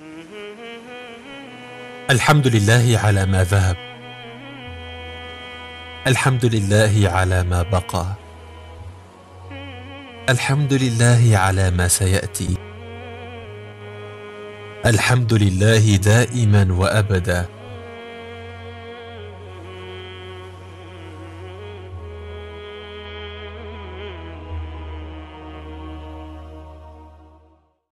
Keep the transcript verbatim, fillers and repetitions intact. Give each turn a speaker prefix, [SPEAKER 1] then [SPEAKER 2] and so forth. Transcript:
[SPEAKER 1] الحمد لله على ما ذهب، الحمد لله على ما بقى، الحمد لله على ما سيأتي، الحمد لله دائما وأبدا،